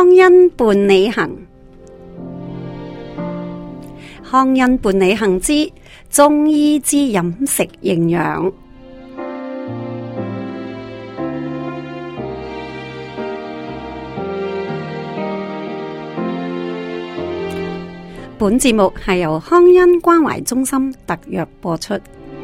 康恩伴你行，康恩伴你行之中醫之飲食營養。本節目係由康恩關懷中心特約播出。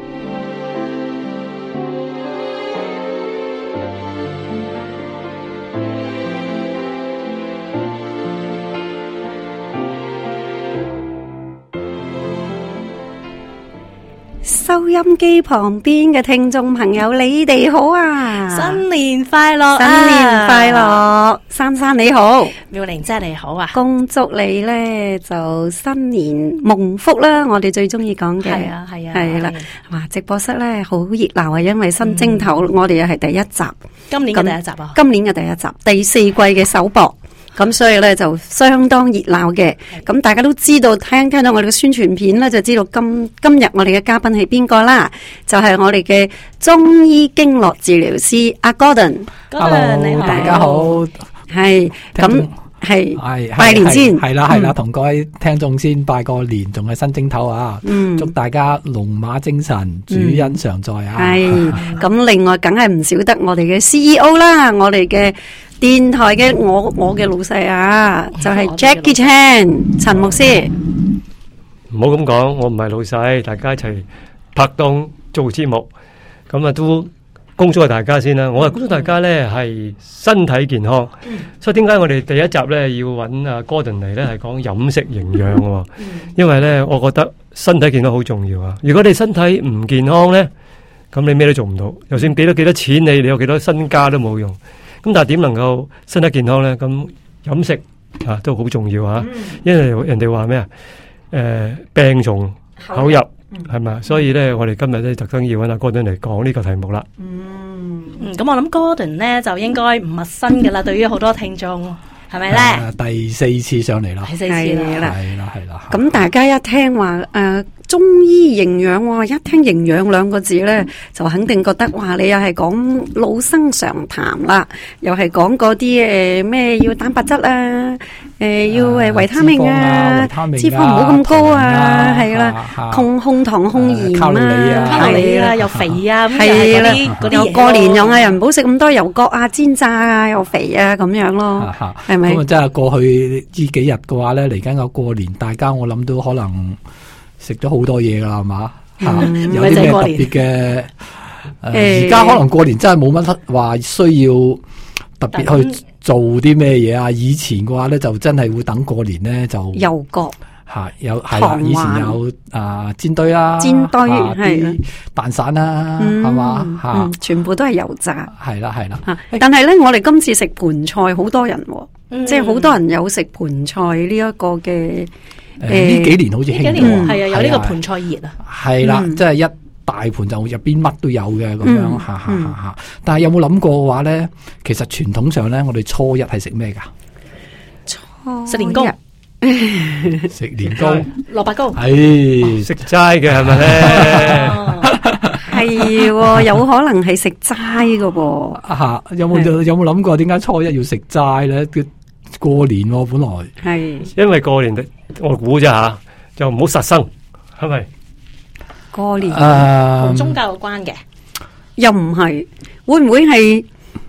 收音機旁邊嘅聽眾朋友，你哋好啊！ 新年快樂， 新年快樂！珊珊你好， 妙玲姐你好啊！ 恭祝你呢就新年蒙福啦！我哋最中意講嘅係啊係啊係啦，哇！直播室呢好熱鬧啊，因為新正頭，我哋又係第一集， 今年嘅第一集啊！ 今年嘅第一集，第四季嘅首播。咁所以咧就相當熱鬧嘅，咁大家都知道聽到我哋嘅宣傳片咧，就知道今日我哋嘅嘉賓係邊個啦，就係我哋嘅中醫經絡治療師阿 Gordon。Hello， 你好， 大家好。 係咁係拜年先， 係啦，同各位聽眾先拜個年，仲係新正頭啊！祝大家龍馬精神，主恩常在啊！ 係咁，另外梗係唔少得我哋嘅 CEO 啦，我哋嘅電台嘅我嘅老細啊，就係 Jackie Chan 陳牧師。 唔好咁講，我唔係老細，大家一齊拍檔做節目，咁啊都恭祝大家先啦。我係恭祝大家咧係身體健康，所以點解我哋第一集咧要揾阿 Gordon 嚟咧係講飲食營養喎？因為咧我覺得身體健康好重要啊。如果你身體唔健康咧，咁你咩都做唔到，就算俾咗幾多錢你有幾多身家都冇用。咁但係點能夠身體健康咧？咁飲食啊都好重要啊！因為人哋話咩啊？病從口入係咪？所以咧，我哋今日咧特登要揾阿 Gordon 嚟講呢個題目啦。 咁我諗 Gordon 咧就應該唔陌生噶啦，對於好多聽眾係咪咧？ 第四次上嚟啦， 第四次啦， 係啦。 咁大家一聽話中醫營養喎，一聽營養兩個字咧，就肯定覺得哇，你又係講老生常談啦，又係講嗰啲咩要蛋白質啊，要維他命啊，脂肪唔好咁高啊，係啦，控糖控鹽啊， 卡路里啊，又肥啊， 係啦， 嗰啲又過年又嗌人唔好食咁多油角啊、煎炸啊，又肥啊咁樣咯，係咪？ 咁啊，真係過去呢幾日嘅話咧，嚟緊個過年，大家我諗都可能食咗好多嘢噶啦，係嘛？有啲咩特別嘅？而家可能過年真係冇乜話需要特別去做啲咩嘢啊！以前嘅話咧，就真係會等過年咧就油角有係啦，以前有煎堆啦， 煎堆係蛋散啦，係嘛全部都係油炸， 係啦。 但係咧，我哋今次食盤菜，好多人，即係好多人有食盤菜呢一個嘅。 呢幾年好似興咗， 係啊，有呢個盤菜熱啊， 係啦，即係一大盤就入邊乜都有嘅咁樣，吓。但係有冇諗過嘅話咧？其實傳統上咧，我哋初一係食咩噶？ 食年糕， 食年糕， 蘿蔔糕， 係食齋嘅係咪咧？ 係，有可能係食齋噶噃。 有冇諗過點解初一要食齋咧？過年本來係， 因為過年我估啫吓，就唔好殺生，係咪？ 過年同宗教有關嘅， 又唔係，會唔會係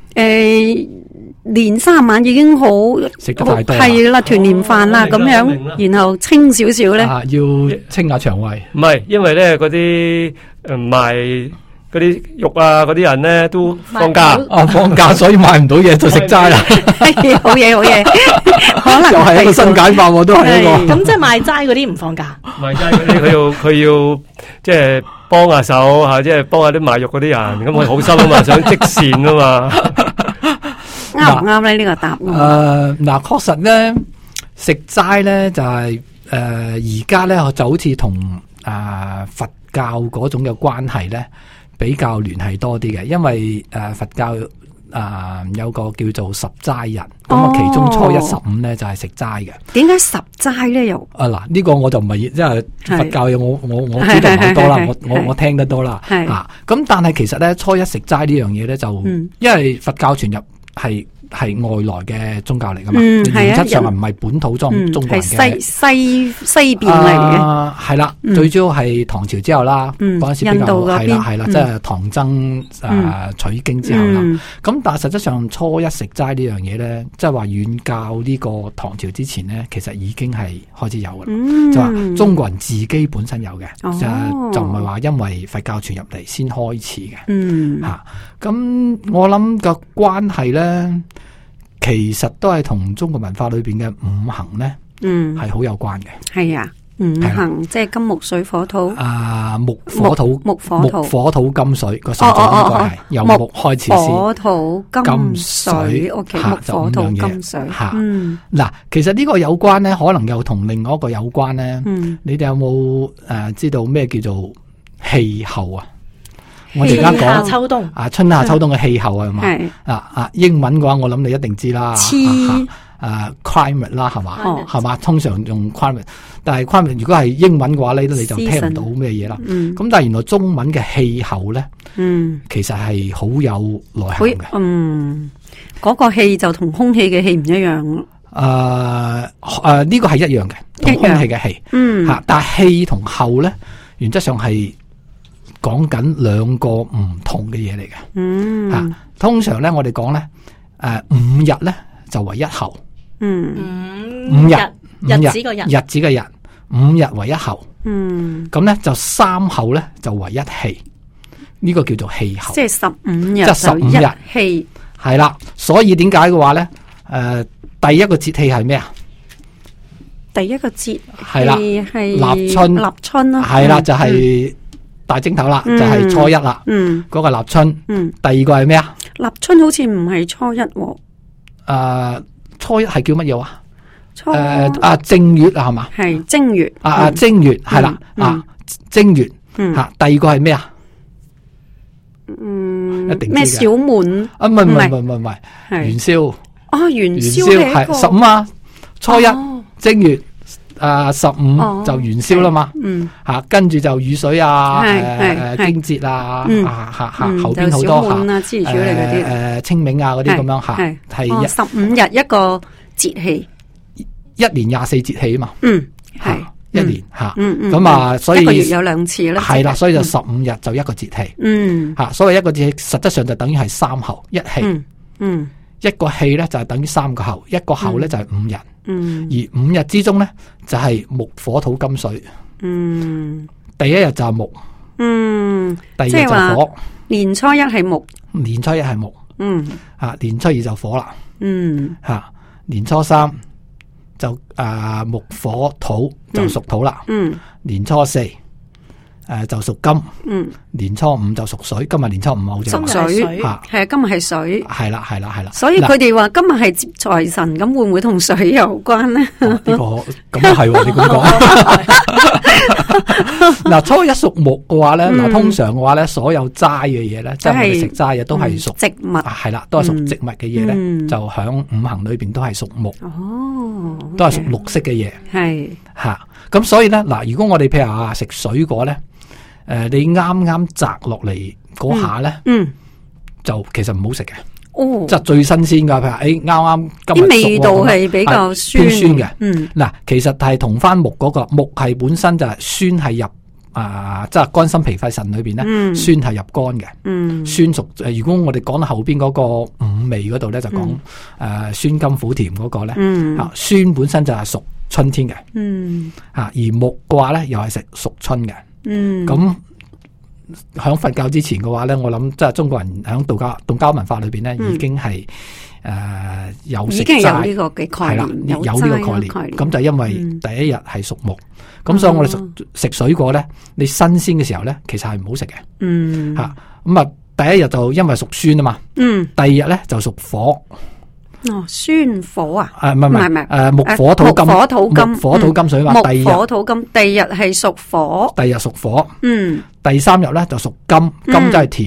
年三晚已經好食得太多， 係啦，團年飯啦咁樣，然後清少少咧， 要清下腸胃。 唔係，因為咧嗰啲賣嗰啲肉啊，嗰啲人咧都放假， 放假所以買唔到嘢就食齋啦。 好嘢，可能又係一個新解法，都係一個。 咁即係賣齋嗰啲唔放假， 賣齋嗰啲佢要即係幫下手吓，即係幫下啲賣肉嗰啲人，咁佢好心啊嘛，想積善啊嘛。 啱唔啱咧？呢個答案嗱，確實咧食齋咧就係而家咧就好似同佛教嗰種嘅關係咧。比較聯繫多啲嘅，因為佛教有個叫做十齋日，咁啊其中初一十五咧就係食齋嘅。點解十齋咧又？呢、呢個我就唔係，因為佛教嘢我知道好多啦，我聽得多啦。咁但係其實咧初一食齋呢樣嘢咧就，因為佛教傳入係係外來嘅宗教嚟噶嘛，原則上唔係本土中國人嘅， 係西邊嚟嘅。係啦，最主要係唐朝之後啦，嗰陣時比較係啦，即係唐僧取經之後啦。咁但係實質上初一食齋呢樣嘢咧，即係話遠較呢個唐朝之前咧，其實已經係開始有噶啦，就話中國人自己本身有嘅，就唔係話因為佛教傳入嚟先開始嘅。吓，咁我諗個關係咧，其實都係同中國文化裏邊嘅五行咧，係好有關嘅。係啊，五行即係金木水火土。木火土金水個順序應該係由木開始先。火土金水，OK，木火土金水。吓，嗱，其實呢個有關咧，可能又同另外一個有關咧。你哋有冇知道咩叫做氣候啊？我哋而家講春夏秋冬春夏秋冬嘅氣候係嘛？英文嘅話，我諗你一定知啦。climate 啦，係嘛？係嘛？通常用 climate， 但係 climate 如果係英文嘅話咧，你就聽唔到咩嘢啦。咁但係原來中文嘅氣候咧，其實係好有內涵嘅。 嗰個氣就同空氣嘅氣唔一樣。 呢個係一樣嘅，同空氣嘅氣。但係氣同候咧，原則上係講緊兩個唔同嘅嘢嚟嘅。通常咧我哋講咧，5日咧就為一候。5日日子個日5日為一候。咁咧就3候咧就為一氣。呢個叫做氣候。即係15日，即係15日氣。係啦，所以點解嘅話咧？第一個節氣係咩啊？第一個節係啦，係立春啦。係啦，就係大蒸頭啦，就係初一啦。嗰個立春。第二個係咩啊？立春好似唔係初一喎。初一係叫乜嘢啊？正月啊，係嘛？係正月。正月係啦。正月。第二個係咩啊？一定咩小滿？唔係元宵。元宵係15啊，初一正月15就元宵啦嘛。跟住就雨水啊，驚節啊，後邊好多清明啊嗰啲咁樣吓，係15日一個節氣，一年24節氣啊嘛。係一年吓，咁啊，所以一個月有2次啦。係啦，所以就15日就一個節氣。吓，所謂一個節氣，實質上就等於係3候一氣。一個氣咧就係等於3個候，一個候咧就係5日。而5日之中咧就係木火土金水。第一日就係木。第二日就火。年初一係木。年初一係木。年初二就火啦。年初三就木火土就屬土啦。年初四就屬金。年初五就屬水。今日年初五好似屬水。係啊，今日係水。係啦。所以佢哋話今日係接財神，咁會唔會同水有關呢？呢個咁啊係，你咁講。嗱，初一屬木嘅話咧，通常嘅話咧，所有齋嘅嘢咧，即係我哋食齋嘅都係屬植物。係啦，都係屬植物嘅嘢咧，就響五行裏邊都係屬木。都係屬綠色嘅嘢。係吓，咁所以咧，嗱，如果我哋譬如話食水果咧。你啱啱摘落嚟嗰下咧，就其實唔好食嘅，即係最新鮮噶。譬如啱啱今日啲味道係比較酸嘅。嗱，其實係同翻木嗰個木係本身就係酸係入即係肝心脾肺腎裏邊咧，酸係入肝嘅。酸屬如果我哋講到後邊嗰個五味嗰度咧，就講酸甘苦甜嗰個咧。酸本身就係屬春天嘅。而木嘅話咧，又係食屬春嘅。咁響佛教之前嘅話咧，我諗即係中國人響道教文化裏邊咧，已經係有食齋，已經有呢個嘅概念，有呢個概念。咁就因為第一日係屬木，咁所以我哋食水果咧，你新鮮嘅時候咧，其實係唔好食嘅。吓，咁啊，第一日就因為屬酸啊嘛。第二日咧就屬火。酸火啊？唔係，木火土金，木火土金水嘛。木火土金，第二日係屬火。第二日屬火。第三日咧就屬金，金就係甜，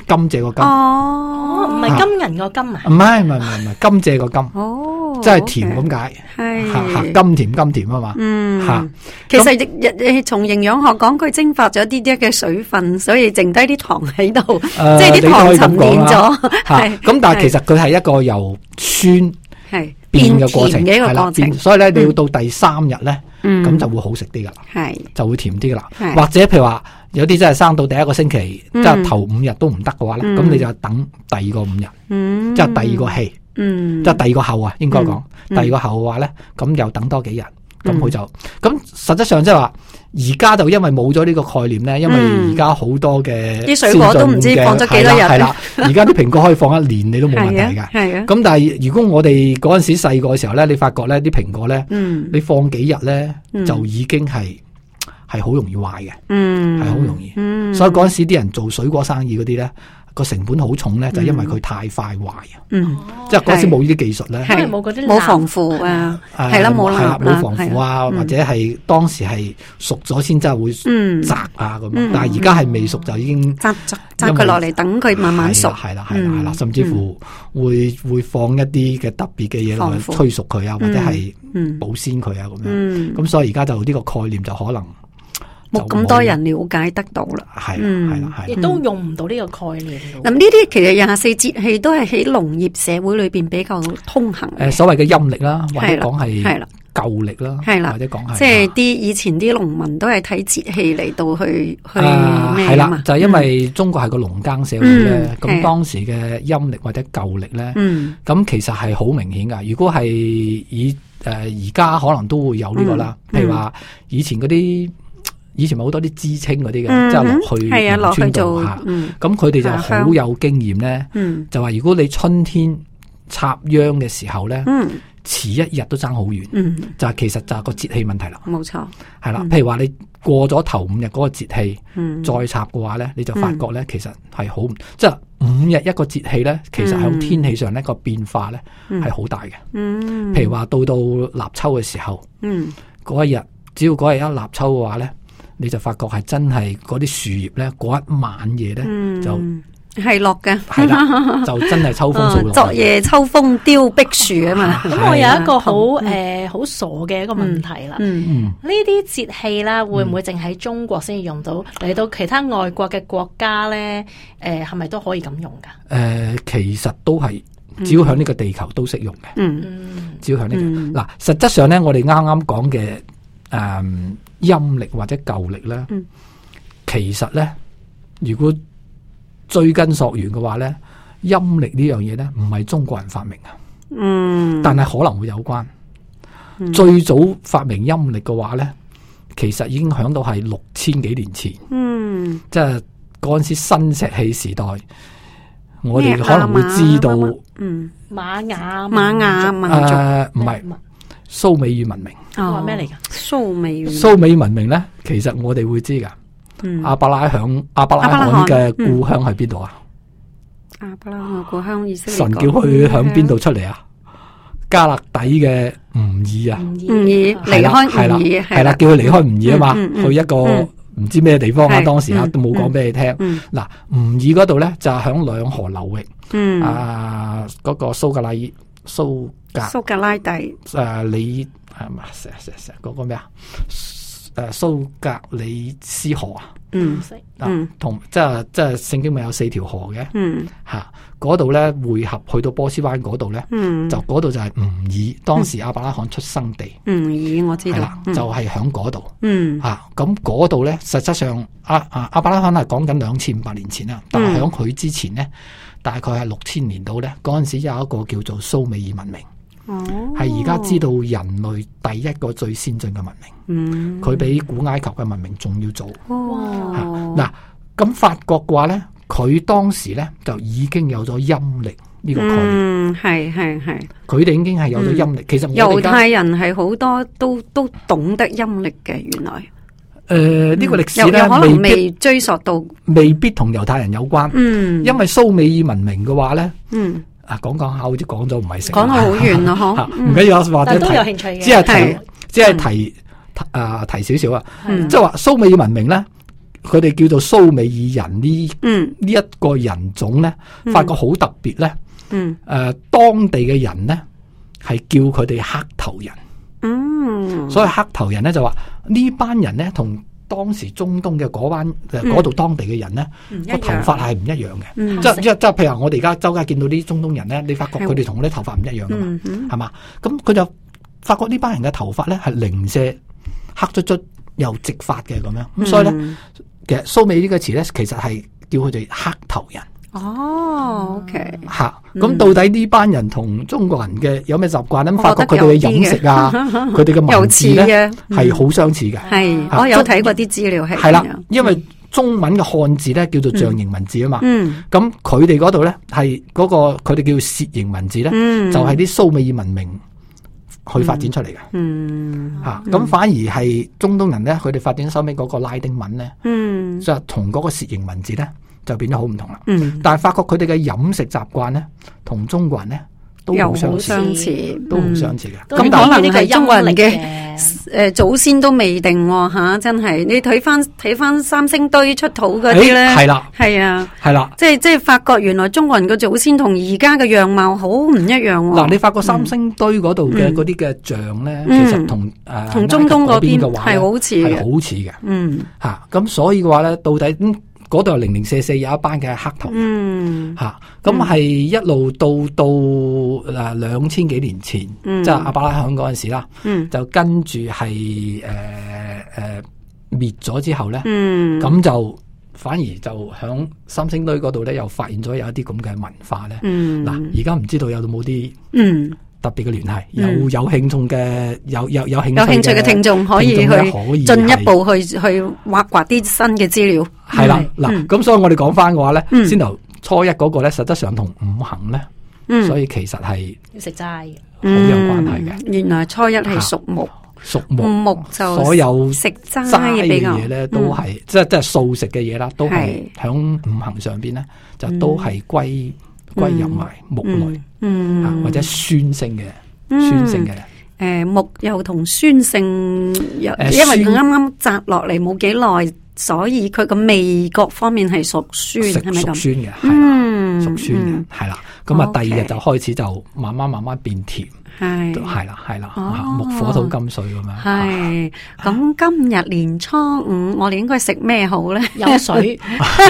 甘蔗個甘。 哦，唔係金銀個金啊？ 唔係甘蔗個甘。 哦， 即係甜咁解。係甘甜甘甜啊嘛。吓， 其實從營養學講，佢蒸發咗啲嘅水分，所以剩低啲糖喺度，即係啲糖沉澱咗。 咁但係其實佢係一個由酸係變嘅過程， 嘅一個過程。 所以咧，你要到第3日咧，咁就會好食啲噶啦， 係就會甜啲噶啦。或者譬如話有啲真係生到第1個星期，即係頭5日都唔得嘅話咧，咁你就等第2個5日，即係第2個氣，即係第2個後啊，應該講第2個後嘅話咧，咁又等多幾日，咁佢就咁實質上即係話。而家就因為冇咗呢個概念咧，因為而家好多嘅啲水果都唔知放咗幾多日。 係啦，而家啲蘋果可以放1年你都冇問題㗎。 係啊。 咁但係如果我哋嗰陣時細個嘅時候咧，你發覺咧啲蘋果咧，你放幾日咧就已經係好容易壞嘅。係好容易。所以嗰陣時啲人做水果生意嗰啲咧，個成本好重咧，就因為佢太快壞啊。即係嗰陣時冇呢啲技術咧， 係冇嗰啲冇防腐啊，係啦冇防腐啊，或者係當時係熟咗先真係會摘啊咁。但係而家係未熟就已經摘佢落嚟，等佢慢慢熟。 係啦，甚至乎會放一啲嘅特別嘅嘢落去催熟佢啊，或者係保鮮佢啊咁樣。咁所以而家就呢個概念就可能冇咁多人了解得到啦， 係啦， 亦都用唔到呢個概念。 咁呢啲其實24節氣都係喺農業社會裏邊比較通行。 所謂嘅陰曆啦，或者講係舊曆啦， 係啦， 或者講係即係啲以前啲農民都係睇節氣嚟到去咩係啦，就係因為中國係個農耕社會咧，咁當時嘅陰曆或者舊曆咧，咁其實係好明顯噶。如果係以而家可能都會有呢個啦，譬如話以前咪好多啲知青嗰啲嘅，即係落去農村度吓，咁佢哋就好有經驗咧，就話如果你春天插秧嘅時候咧，遲1日都爭好遠，就係其實就係個節氣問題啦。 冇錯， 係啦，譬如話你過咗頭5日嗰個節氣，再插嘅話咧，你就發覺咧，其實係好，即係5日一個節氣咧，其實喺天氣上呢個變化咧係好大嘅。譬如話到立秋嘅時候，嗰一日只要嗰日一立秋嘅話咧，你就發覺係真係嗰啲樹葉咧，嗰一晚夜咧就係落嘅， 係啦，就真係秋風掃落。 昨夜秋風凋碧樹啊嘛。 咁我有一個好傻嘅一個問題啦。呢啲節氣啦，會唔會淨喺中國先用到？嚟到其他外國嘅國家咧，係咪都可以咁用噶？ 其實都係，只要喺呢個地球都適用嘅。只要喺呢個嗱，實質上咧，我哋啱啱講嘅陰曆或者舊曆咧，其實咧，如果追根溯源嘅話咧，陰曆呢樣嘢咧，唔係中國人發明啊，但係可能會有關。最早發明陰曆嘅話咧，其實已經響到係6000幾年前，即係嗰陣時新石器時代，我哋可能會知道， 瑪雅民族， 唔係蘇美爾文明。 話咩嚟噶？ 蘇美文明咧，其實我哋會知噶。亞伯拉罕嘅故鄉喺邊度啊？ 亞伯拉罕嘅故鄉以色列。 神叫佢響邊度出嚟啊？加勒底嘅吾爾啊， 離開吾爾係啦，叫佢離開吾爾啊嘛，去一個唔知咩地方啊，當時啊都冇講俾你聽。嗱，吾爾嗰度咧就係響兩河流域，嗰個蘇格拉底，你係嘛？嗰個咩啊？蘇格里斯河啊，同即係聖經咪有4條河嘅，吓嗰度咧匯合去到波斯灣嗰度咧，就嗰度就係吾爾，當時亞伯拉罕出生地。吾爾我知道， 係啦，就係響嗰度。吓咁嗰度咧，實質上亞伯拉罕係講緊2500年前啦，但係響佢之前咧，大概係6000年度咧，嗰陣時有一個叫做蘇美爾文明。係而家知道人類第一個最先進嘅文明，佢比古埃及嘅文明仲要早。嗱，咁法國嘅話咧，佢當時咧就已經有咗陰曆呢個概念。 係， 佢哋已經係有咗陰曆。其實猶太人係好多都懂得陰曆嘅，原來。 呢個歷史咧， 可能未追溯到， 未必同猶太人有關。因為蘇美爾文明嘅話咧，講下好似講咗唔係成， 講到好遠咯，嗬。 唔緊要，或者都有興趣嘅， 只係提少少啊。即係話蘇美爾文明咧， 佢哋叫做蘇美爾人呢一個人種咧，發覺好特別咧。當地嘅人咧係叫佢哋黑頭人。所以黑頭人咧就話呢班人咧同當時中東嘅嗰度當地嘅人咧個頭髮係唔一樣嘅。即係譬如我哋而家周街見到啲中東人咧，你發覺佢哋同我啲頭髮唔一樣噶嘛，係嘛？咁佢就發覺呢班人嘅頭髮咧係零舍黑卒卒又直髮嘅咁樣。咁所以咧，其實蘇美呢個詞咧，其實係叫佢哋黑頭人。 OK。 吓，咁到底呢班人同中國人嘅有咩習慣咧？發覺佢哋嘅飲食啊，佢哋嘅文字咧係好相似嘅。 係，我有睇過啲資料係啦，因為中文嘅漢字咧叫做象形文字啊嘛。咁佢哋嗰度咧係嗰個佢哋叫楔形文字咧，就係啲蘇美爾文明去發展出嚟嘅。咁反而係中東人咧，佢哋發展收尾嗰個拉丁文咧，就係同嗰個楔形文字咧。就變得好唔同啦。但係發覺佢哋嘅飲食習慣咧，同中國人咧都好相似，都好相似嘅。咁可能係中國人嘅祖先都未定吓，真係你睇翻三星堆出土嗰啲咧，係啦，係啊，係啦，即係發覺原來中國人嘅祖先同而家嘅樣貌好唔一樣。 嗱，你發覺三星堆嗰度嘅嗰啲嘅像咧，其實同中東嗰邊嘅話係好似嘅， 好似嘅。咁所以嘅話咧，到底嗰度零零舍舍有一班嘅黑頭人，咁係一路到2000幾年前，即係亞伯拉罕嗰陣時啦，就跟住係滅咗之後咧，咁就反而就響三星堆嗰度咧，又發現咗有一啲咁嘅文化咧。嗱，而家唔知道有冇啲特別嘅聯繫，有興趣嘅有興趣嘅聽眾可以去進一步去挖掘啲新嘅資料。係啦，嗱，咁所以我哋講翻嘅話咧，先頭初一嗰個咧，實質上同五行咧，所以其實係要食齋嘅， 好有關係嘅。 原來初一係屬木，木就所有食齋嘅嘢咧，都係即係素食嘅嘢啦，都係響五行上邊咧，就都係歸入埋木類，或者酸性嘅， 木又同酸性，因為佢啱啱摘落嚟冇幾耐，所以佢個味覺方面係屬酸，係咪咁？屬酸嘅，係啦，屬酸嘅，係啦。咁啊，第二日就開始就慢慢變甜，係啦，木火土金水咁樣。係，咁今日年初五，我哋應該食咩好咧？ 飲水。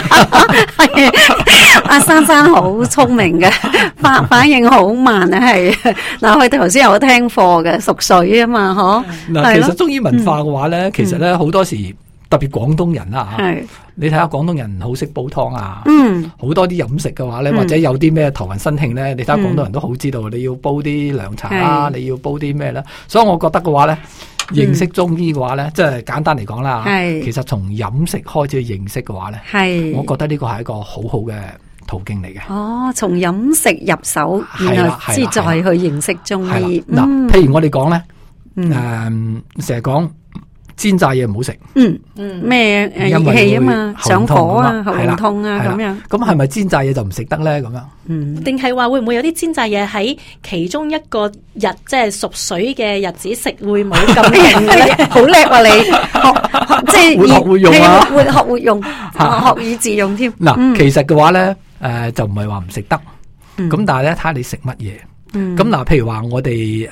阿珊珊好聰明嘅，反應好慢啊，係。嗱，佢頭先有聽課嘅，屬水啊嘛，嗬。 嗱，其實中醫文化嘅話咧，其實咧好多時。特別廣東人啦吓，你睇下廣東人好識煲湯啊，好多啲飲食嘅話咧，或者有啲咩頭暈身慶咧，你睇下廣東人都好知道，你要煲啲涼茶啦，你要煲啲咩咧，所以我覺得嘅話咧，認識中醫嘅話咧，即係簡單嚟講啦，其實從飲食開始去認識嘅話咧，我覺得呢個係一個好好嘅途徑嚟嘅。 哦，從飲食入手，然後先再去認識中醫。 嗱，譬如我哋講咧，成日講。煎炸嘢唔好食， 咩熱氣啊嘛，上火啊，喉嚨痛啊咁樣。 咁係咪煎炸嘢就唔食得咧？咁樣， 定係話會唔會有啲煎炸嘢喺其中一個日，即係屬水嘅日子食會冇咁勁咧？ 好叻啊你，即係會學會用啊， 會學會用，學以致用添。 嗱，其實嘅話咧，就唔係話唔食得，咁但係咧睇下你食乜嘢。咁嗱，譬如話我哋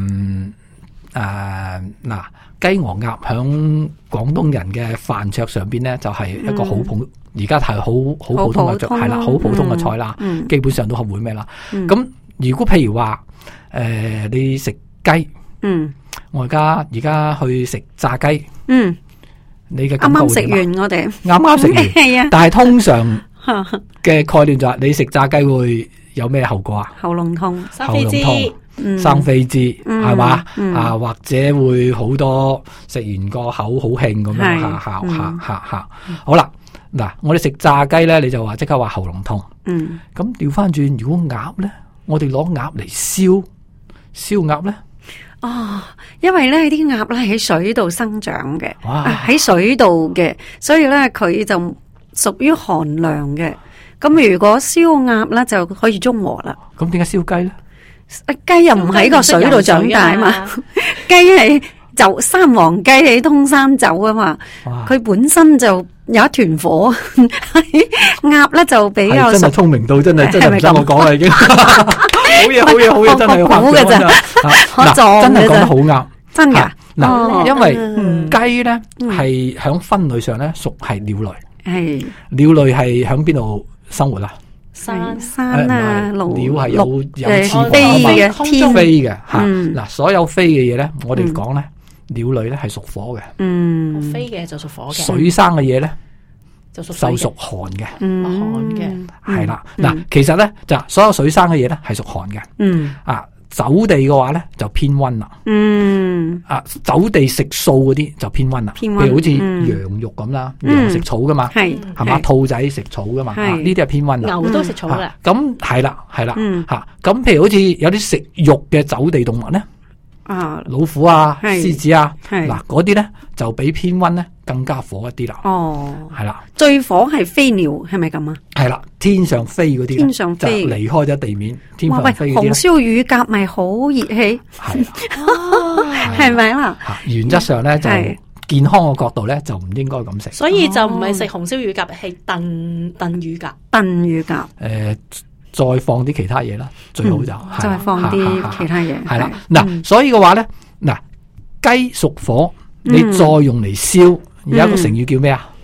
嗱。雞鵝鴨響廣東人嘅飯桌上邊咧，就係一個好普，而家係好普通嘅，係啦，好普通嘅菜啦，基本上都係會咩啦。咁如果譬如話，你食雞，我而家去食炸雞，你嘅感覺會點啊？啱啱食完我哋，啱啱食完，係啊。但係通常嘅概念就係你食炸雞會有咩後果啊？ 喉嚨痛， 生痱滋。 生痱滋係嘛啊，或者會好多食完個口好興咁樣吓。好啦，嗱，我哋食炸雞咧，你就話即刻話喉嚨痛。咁調翻轉，如果鴨咧，我哋攞鴨嚟燒鴨咧。 哦，因為咧啲鴨咧喺水度生長嘅，喺水度嘅，所以咧佢就屬於寒涼嘅。咁如果燒鴨咧就可以中和啦。 咁點解燒雞咧？ 雞又唔喺個水度長大嘛，雞係就三黃雞喺通山走啊嘛，佢本身就有一團火，鴨咧就比較真係聰明到真係唔使我講啦已經。好嘢，真係我估嘅咋，我撞真係講得好啱， 真噶。 嗱，因為雞咧係響分類上咧屬係鳥類， 係鳥類係響邊度生活啊？ 山啊， 鳥係有翅膀飛嘅， 天飛嘅吓。嗱，所有飛嘅嘢咧，我哋講咧，鳥類咧係屬火嘅， 飛嘅就屬火嘅。 水生嘅嘢咧就屬寒嘅， 寒嘅係啦。嗱，其實咧就所有水生嘅嘢咧係屬寒嘅，走地嘅話咧就偏溫啦，走地食素嗰啲就偏溫啦，譬如好似羊肉咁啦，羊食草噶嘛，係嘛，兔仔食草噶嘛，呢啲係偏溫啦。 牛都食草噶， 咁係啦吓，咁譬如好似有啲食肉嘅走地動物咧，老虎啊、獅子啊，嗱嗰啲咧就比偏溫咧更加火一啲啦。係啦， 最火係飛鳥，係咪咁啊？ 係啦，天上飛嗰啲， 天上飛就離開咗地面，天上飛嗰啲。紅燒乳鴿咪好熱氣，係咪啦？ 原則上咧就健康嘅角度咧就唔應該咁食， 所以就唔係食紅燒乳鴿，係燉乳鴿。 燉乳鴿， 再放啲其他嘢啦，最好就再放啲其他嘢。 係啦，嗱，所以嘅話咧，嗱，雞屬火，你再用嚟燒，有一個成語叫咩啊？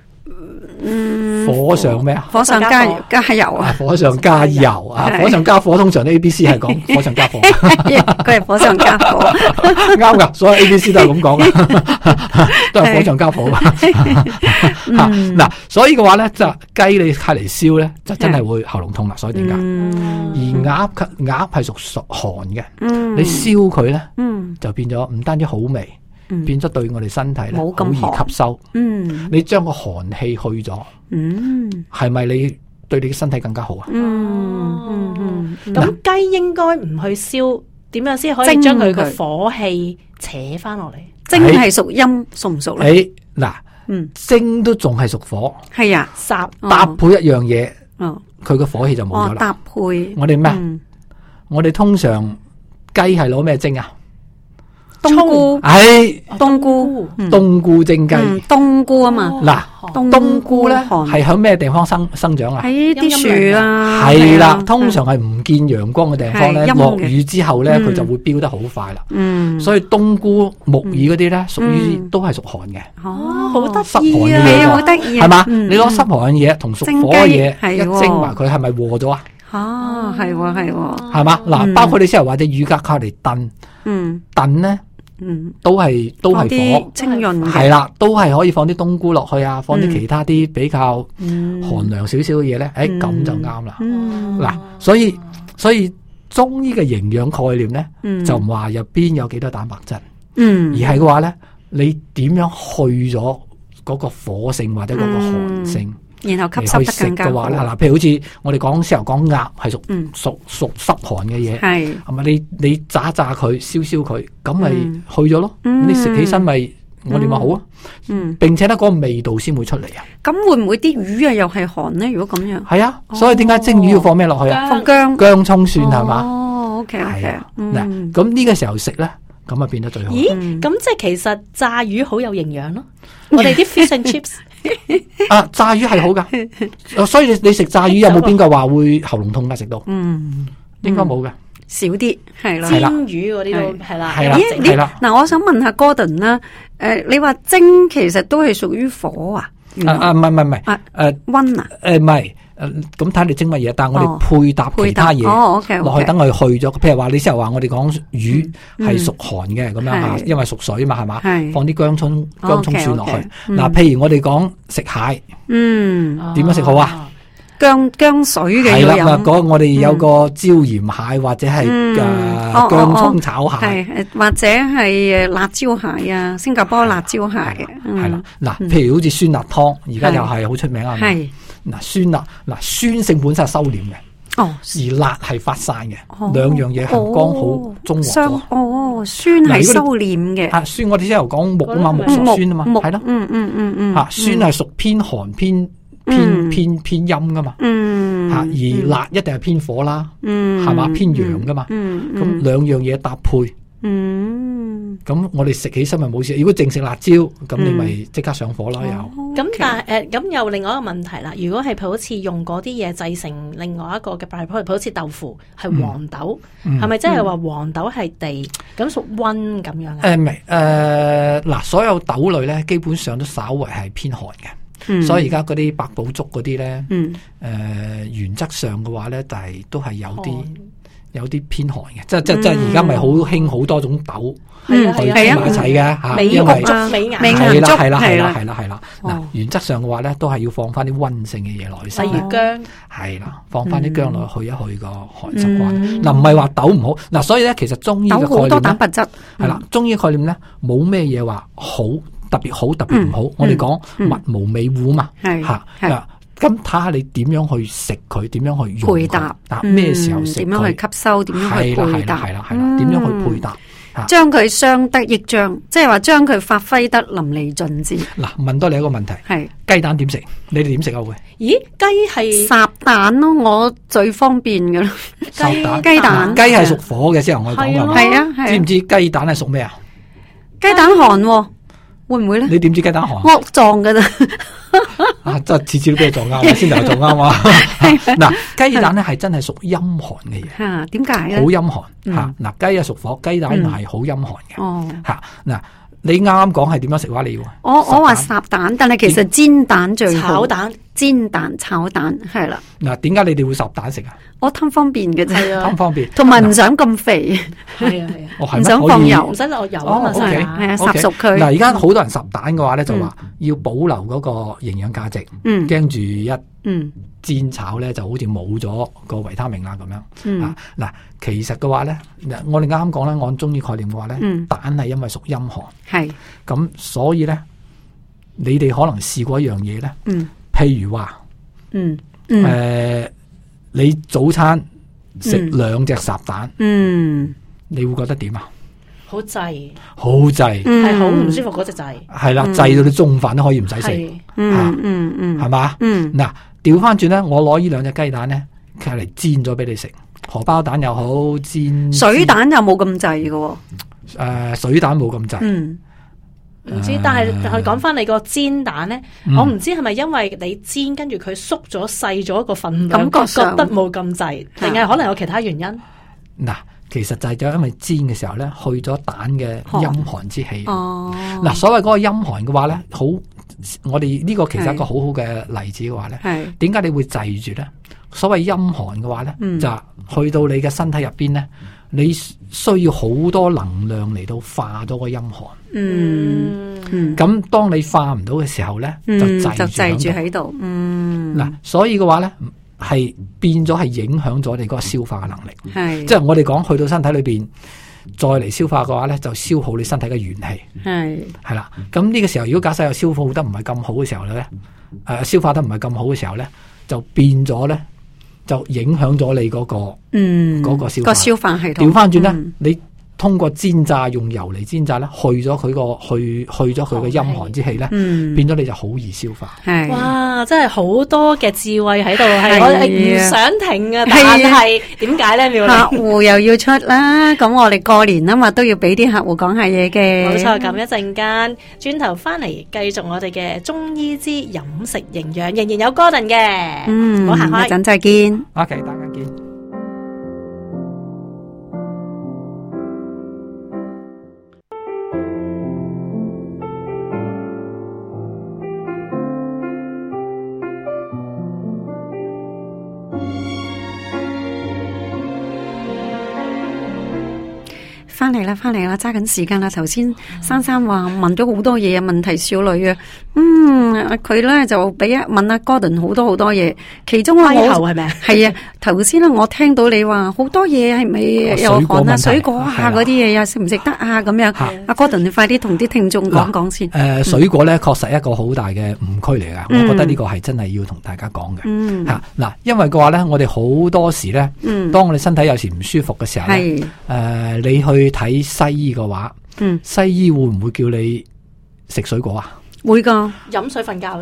火上咩啊？ 火上加油啊！ 火上加油啊！火上加火，通常啲 ABC 係講火上加火， 佢係火上加火， 啱噶，所有 ABC 都係咁講嘅，都係火上加火。嗱，所以嘅話咧，就雞你係嚟燒咧，就真係會喉嚨痛啦。所以點解？而鴨係屬寒嘅，你燒佢咧，就變咗唔單止好味。變咗對我哋身體咧好易吸收，你將個寒氣去咗，係咪你對你嘅身體更加好啊？ 咁雞應該唔去燒，點樣先可以將佢個火氣扯翻落嚟？ 蒸係屬陰，屬唔屬咧？ 嗱，蒸都仲係屬火， 係啊， 搭配一樣嘢，佢個火氣就冇咗啦。 搭配我哋咩？我哋通常雞係攞咩蒸啊？ 冬菇，冬菇， 冬菇蒸雞， 冬菇啊嘛。 嗱，冬菇咧係響咩地方生長啊？ 喺啲樹啊， 係啦，通常係唔見陽光嘅地方咧，落雨之後咧，佢就會飆得好快啦。所以冬菇、木耳嗰啲咧，屬於都係屬寒嘅。 好得意啊，好得意， 係嘛？你攞濕寒嘅嘢同屬火嘅嘢一蒸埋，佢係咪和咗啊？ 係係嘛？嗱，包括你先頭話隻乳鴿靠嚟燉，燉咧。都係火清潤， 係啦，都係可以放啲冬菇落去啊，放啲其他啲比較寒涼少少嘅嘢咧，咁就啱啦。嗱，所以中醫嘅營養概念咧，就唔話入邊有幾多蛋白質，而係嘅話咧，你點樣去咗嗰個火性或者嗰個寒性， 然後吸收得更加好。 嗱，譬如好似我哋講先頭講鴨係屬濕寒嘅嘢，係咪？你炸佢，燒佢，咁咪去咗咯。你食起身咪我哋咪好啊。並且咧嗰個味道先會出嚟啊。 咁會唔會啲魚啊又係寒咧？如果咁樣， 係啊。所以點解蒸魚要放咩落去啊？ 放薑、 葱、蒜係嘛？ 哦，OK。 嗱，咁呢個時候食咧，咁啊變得最好。 咦？咁即係其實炸魚好有營養咯。我哋啲 fish and chips。 炸魚係好噶，所以你食炸魚有冇邊個話會喉嚨痛噶？食到，應該冇嘅， 少啲係啦。 煎魚嗰啲都係啦， 係啦。 嗱，我想問下 Gordon 啦，你話蒸其實都係屬於火啊？ 唔係， 溫啊？ 唔係。咁睇你蒸乜嘢，但係我哋配搭其他嘢落去，等佢去咗。譬如話你之後話我哋講魚係屬寒嘅咁樣吓，因為屬水嘛係嘛，放啲薑葱蒜落去。嗱，譬如我哋講食蟹，點樣食好啊？ 薑水嘅係啦，我哋有個椒鹽蟹或者係薑葱炒蟹， 或者係辣椒蟹啊，新加坡辣椒蟹嘅係啦。嗱，譬如好似酸辣湯，而家又係好出名啊。酸辣，酸性本身係收斂嘅，而辣係發散嘅，兩樣嘢係剛好中和咗。 酸係收斂嘅， 酸我哋先頭講木啊嘛，木屬酸啊嘛，係咯，酸係屬偏寒偏陰噶嘛，而辣一定係偏火啦，係嘛，偏陽噶嘛，咁兩樣嘢搭配。 咁我哋食起身咪冇事。如果淨食辣椒，咁你咪即刻上火啦又。 咁但係咁又另外一個問題啦。如果係好似用嗰啲嘢製成另外一個嘅 byproduct，好似豆腐係黃豆，係咪即係話黃豆係地咁屬溫咁樣啊？ 唔係嗱，所有豆類咧基本上都稍為係偏寒嘅，所以而家嗰啲百寶粥嗰啲咧，原則上嘅話咧，但係都係有啲偏寒嘅，即係而家咪好興好多種豆去埋一齊嘅嚇，因為係啦。嗱，原則上嘅話咧，都係要放翻啲溫性嘅嘢落去， 例如薑， 係啦，放翻啲薑落去一去個寒濕關。嗱，唔係話豆唔好，嗱，所以咧其實中醫嘅概念咧， 豆好多蛋白質， 係啦，中醫概念咧冇咩嘢話好特別好特別唔好，我哋講物無美戶嘛，嚇。咁睇下你點樣去食佢，點樣去用佢， 配搭， 咩時候食佢， 點樣去吸收，點樣去配搭， 係啦，點樣去配搭， 將佢相得益彰，即係話將佢發揮得淋漓盡致。 嗱，問多你一個問題，係雞蛋點食？你哋點食啊？會？ 咦，雞係烚蛋咯，我最方便㗎啦。 烚蛋， 雞蛋， 雞係屬火嘅，先我講㗎。 係啊， 知唔知雞蛋係屬咩啊？ 雞蛋寒喎，會唔會咧？ 你點知雞蛋寒？ 惡撞㗎咋？ 即係次次都俾你撞啱，先頭撞啱嘛。嗱，雞蛋咧係真係屬陰寒嘅嘢。 吓，點解咧？ 好陰寒吓。嗱，雞啊屬火，雞蛋係好陰寒嘅。 哦， 吓，嗱，你啱啱講係點樣食話？你要我話烚蛋，但係其實煎蛋最好。 炒蛋、 煎蛋、炒蛋係啦。 嗱，點解你哋會烚蛋食啊？ 我貪方便嘅啫， 貪方便， 同埋唔想咁肥。 係啊， 唔想放油， 唔使落油啊嘛，係啊，烚熟佢。 嗱，而家好多人烚蛋嘅話咧，就話要保留嗰個營養價值，驚住一煎炒咧就好似冇咗個維他命啦咁樣。啊，嗱，其實嘅話咧，我哋啱啱講咧，按中醫概念嘅話咧，蛋係因為屬陰寒，係咁，所以咧，你哋可能試過一樣嘢咧，譬如話，你早餐食2隻烚蛋，你會覺得點啊？ 好滯， 好滯， 係好唔舒服嗰隻滯。 係啦，滯到你中午飯都可以唔使食，係嘛？嗱，調翻轉咧，我攞呢2隻雞蛋咧，佢嚟煎咗俾你食，荷包蛋又好，煎水蛋又冇咁滯嘅。 水蛋冇咁滯。 唔知，但係講翻你個煎蛋咧，我唔知係咪因為你煎跟住佢縮咗細咗個份量，覺得冇咁滯，定係可能有其他原因？嗱， 其實就係因為煎嘅時候咧，去咗蛋嘅陰寒之氣。嗱，所謂嗰個陰寒嘅話咧，好，我哋呢個其實係一個好好嘅例子嘅話咧，點解你會滯住咧？所謂陰寒嘅話咧，就去到你嘅身體入邊咧。你需要好多能量嚟到化咗個陰寒，咁當你化唔到嘅時候咧，就滯住喺度。嗱，所以嘅話咧，係變咗係影響咗你嗰個消化嘅能力。即係我哋講去到身體裏邊再嚟消化嘅話咧，就消耗你身體嘅元氣。係啦，咁呢個時候如果假設有消耗得唔係咁好嘅時候咧，消化得唔係咁好嘅時候咧，就變咗咧。就影響咗你嗰個消化系統。調翻轉咧，你通過煎炸用油嚟煎炸咧，去咗佢嘅陰寒之氣咧，變咗你就好易消化。 哇，真係好多嘅智慧喺度，係我唔想停啊！但係點解咧？妙玲， 客戶又要出啦，咁我哋過年啊嘛，都要俾啲客戶講下嘢嘅。 冇錯，咁一陣間轉頭翻嚟繼續我哋嘅中醫之飲食營養，仍然有 Gordon 嘅。唔好行開， 一陣再見。 OK， 大家見。 翻嚟啦，揸緊時間啦。頭先珊珊話問咗好多嘢啊，問題少女啊，佢咧就問阿 Gordon 好多嘢，其中我係咪啊？ 係啊，頭先咧我聽到你話好多嘢係咪有寒啊、水果啊嗰啲嘢啊，食唔食得啊咁樣？阿 Gordon 你快啲同啲聽眾講講先。 水果咧確實一個好大嘅誤區嚟噶，我覺得呢個係真係要同大家講嘅。嗱，因為嘅話咧，我哋好多時咧，當我哋身體有時唔舒服嘅時候咧，你去睇西醫嘅話，西醫會唔會叫你食水果啊？ 會噶， 飲水瞓覺啫。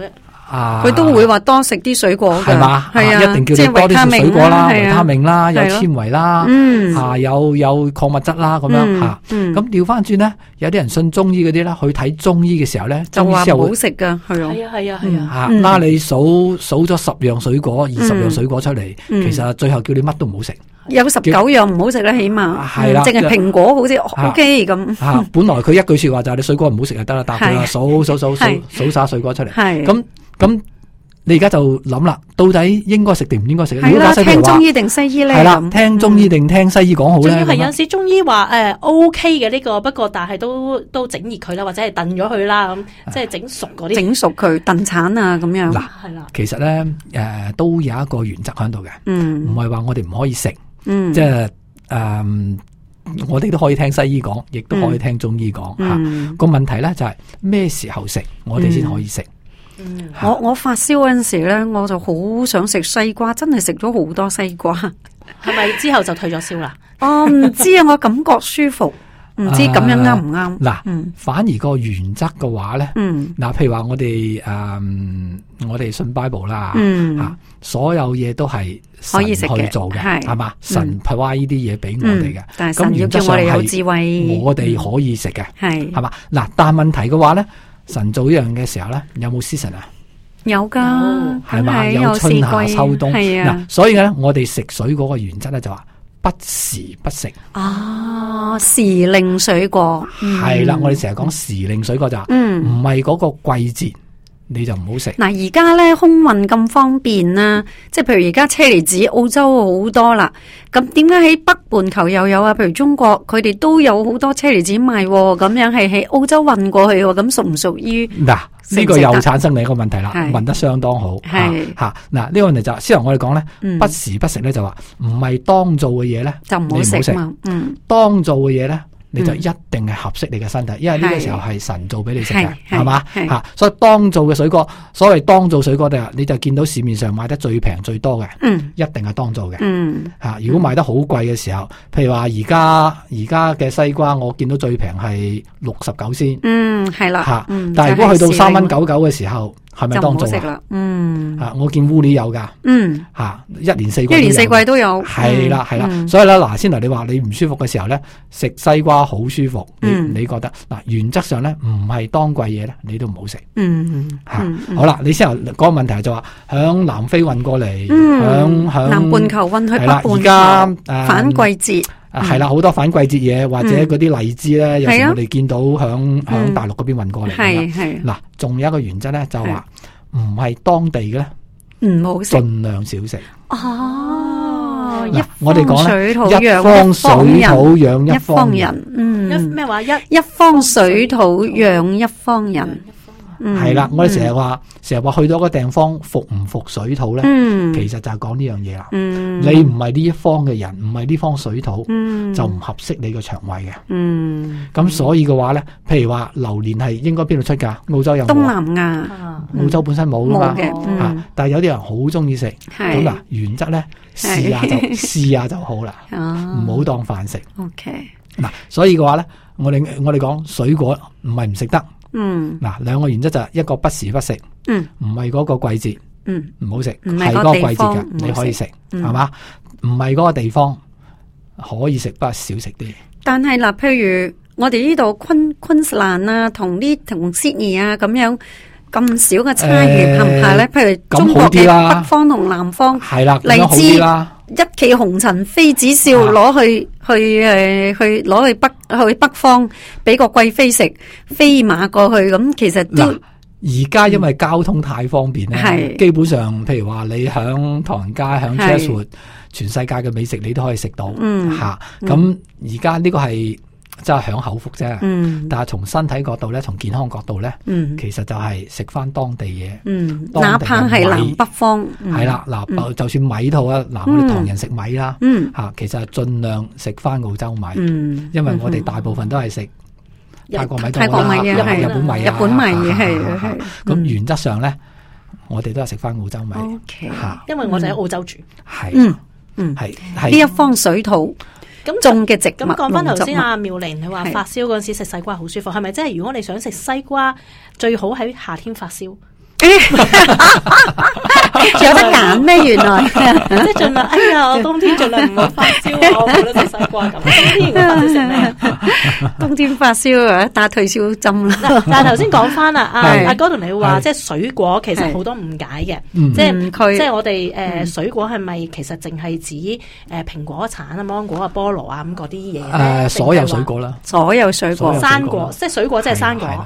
佢都會話多食啲水果嘅， 係嘛？ 係啊， 一定叫你多啲食水果啦，維他命啦，有纖維啦，有礦物質啦，咁樣吓。咁調翻轉咧，有啲人信中醫嗰啲咧，去睇中醫嘅時候咧， 就話唔好食噶，係啊， 拉你數咗10樣水果、20樣水果出嚟，其實最後叫你乜都唔好食。 有19樣唔好食啦，起碼係啦， 淨係蘋果好似 OK 咁。 本來佢一句說話就係你水果唔好食就得啦，答佢啦，數晒水果出嚟。咁你而家就諗啦，到底應該食定唔應該食？ 係啦，聽中醫定西醫咧？ 係啦，聽中醫定聽西醫講好咧？ 仲要係有陣時中醫話OK 嘅呢個，不過但係都整熱佢啦，或者係燉咗佢啦，咁即係整熟嗰啲，整熟佢燉橙啊咁樣。 嗱，係啦，其實咧都有一個原則喺度嘅，唔係話我哋唔可以食，即係我哋都可以聽西醫講，亦都可以聽中醫講吓。個問題咧就係咩時候食，我哋先可以食。 我發燒嗰陣時咧，我就好想食西瓜，真係食咗好多西瓜。 係咪之後就退咗燒啦？ 我唔知啊，我感覺舒服，唔知咁樣啱唔啱？ 嗱，反而個原則嘅話咧，嗱，譬如話我哋信 Bible 啦，所有嘢都係神去做嘅，係嘛？神派呢啲嘢俾我哋嘅， 但係神要叫我哋有智慧， 我哋可以食嘅， 係嘛？嗱，但係問題嘅話咧。神做呢樣嘅時候咧，有冇 season 啊？ 有噶， 係嘛？有春夏秋冬。嗱，所以咧，我哋食水果嘅原則咧就話不時不食。 時令水果係啦，我哋成日講時令水果就唔係嗰個季節，你就唔好食。 嗱，而家咧空運咁方便啦，即係譬如而家車厘子澳洲好多啦，咁點解喺北半球又有啊？譬如中國佢哋都有好多車厘子賣，咁樣係喺澳洲運過去，咁屬唔屬於？ 嗱，呢個又產生另一個問題啦，問得相當好。係吓，嗱，呢個問題就先由我哋講咧，不時不食咧就話唔係當做嘅嘢咧，就唔好食嘛。當做嘅嘢咧，你就一定係合適你嘅身體，因為呢個時候係神做俾你食嘅，係嘛吓，所以當造嘅水果，所謂當造水果你就見到市面上買得最平最多嘅，一定係當造嘅，吓。如果賣得好貴嘅時候，譬如話而家嘅西瓜，我見到最平係69仙，係啦吓，但係如果去到3.99蚊嘅時候，係咪當造啊？我見烏里有噶，吓，一年四季都有，係啦係啦。所以咧，嗱，先頭你話你唔舒服嘅時候咧，食西瓜好舒服，你覺得嗱？原則上咧，唔係當季嘢咧，你都唔好食。吓，好啦，你先頭嗰個問題就話響南非運過嚟，響南半球運去北半球，而家反季節係啦，好多反季節嘢或者嗰啲荔枝咧，有時我哋見到響大陸嗰邊運過嚟。係嗱，仲有一個原則咧，就話唔係當地嘅咧，唔好食，盡量少食。我哋講咧，一方水土養一方人。 咩話？ 一方水土養一方人。 係啦，我哋成日話去到個地方服唔服水土咧，其實就係講呢樣嘢啦。你唔係呢一方嘅人，唔係呢方水土，就唔合適你個腸胃嘅。咁所以嘅話咧，譬如話榴蓮係應該邊度出噶？澳洲有冇？東南亞，澳洲本身冇噶嘛。但係有啲人好中意食。咁嗱，原則咧，試下就好啦，唔好當飯食。OK。嗱，所以嘅話咧，我哋講水果唔係唔食得。嗱，兩個原則就係一個不時不食，唔係嗰個季節，唔好食，係嗰個季節嘅，你可以食，係嘛？唔係嗰個地方可以食，不過少食啲。但係嗱，譬如我哋呢度昆士蘭啊，同 Sydney 啊咁樣咁少嘅差異，怕唔怕咧？譬如中國嘅北方同南方，係啦，荔枝一騎紅塵妃子笑，攞去北方俾個貴妃食，飛馬過去咁，其實都而家因為交通太方便咧，基本上譬如話你響唐人街、響 Chatswood，全世界嘅美食你都可以食到吓。咁而家呢個係真係享口福啫，但係從身體角度咧，從健康角度咧，其實就係食翻當地嘢，哪怕係南北方，係啦，嗱，就算米套啊，嗱，我哋唐人食米啦，吓，其實係盡量食翻澳洲米，因為我哋大部分都係食泰國米多啦，日本米係，咁原則上咧，我哋都係食翻澳洲米，吓， 因為我哋喺澳洲住， 係，係呢一方水土。咁種嘅植物， 咁講翻頭先阿妙玲，你話發燒嗰陣時食西瓜好舒服，係咪即係如果你想食西瓜，最好喺夏天發燒？ 有得揀咩？原來即係盡量，哎呀，我冬天盡量唔好發燒啊！我冇得食西瓜咁。冬天我發燒食咩？ 冬天發燒啊，打退燒針啦。 但係頭先講翻啦，阿哥同你話，即係水果其實好多誤解嘅，即係我哋水果係咪其實淨係指蘋果、橙啊、芒果啊、菠蘿啊咁嗰啲嘢？ 所有水果啦， 所有水果， 生果即係水果，即係生果。